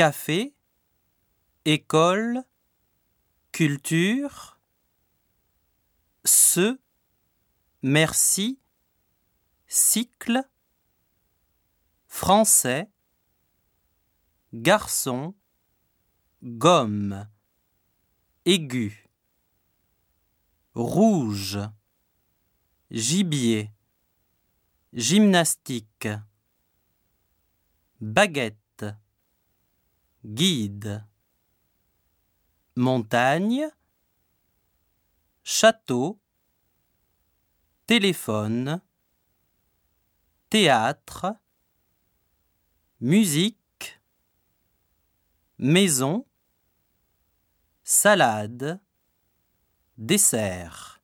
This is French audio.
café, école, culture, merci, cycle, français, garçon, gomme, aigu, rouge, gibier, gymnastique, baguette, guide, montagne, château, téléphone, théâtre, musique, maison, salade, dessert.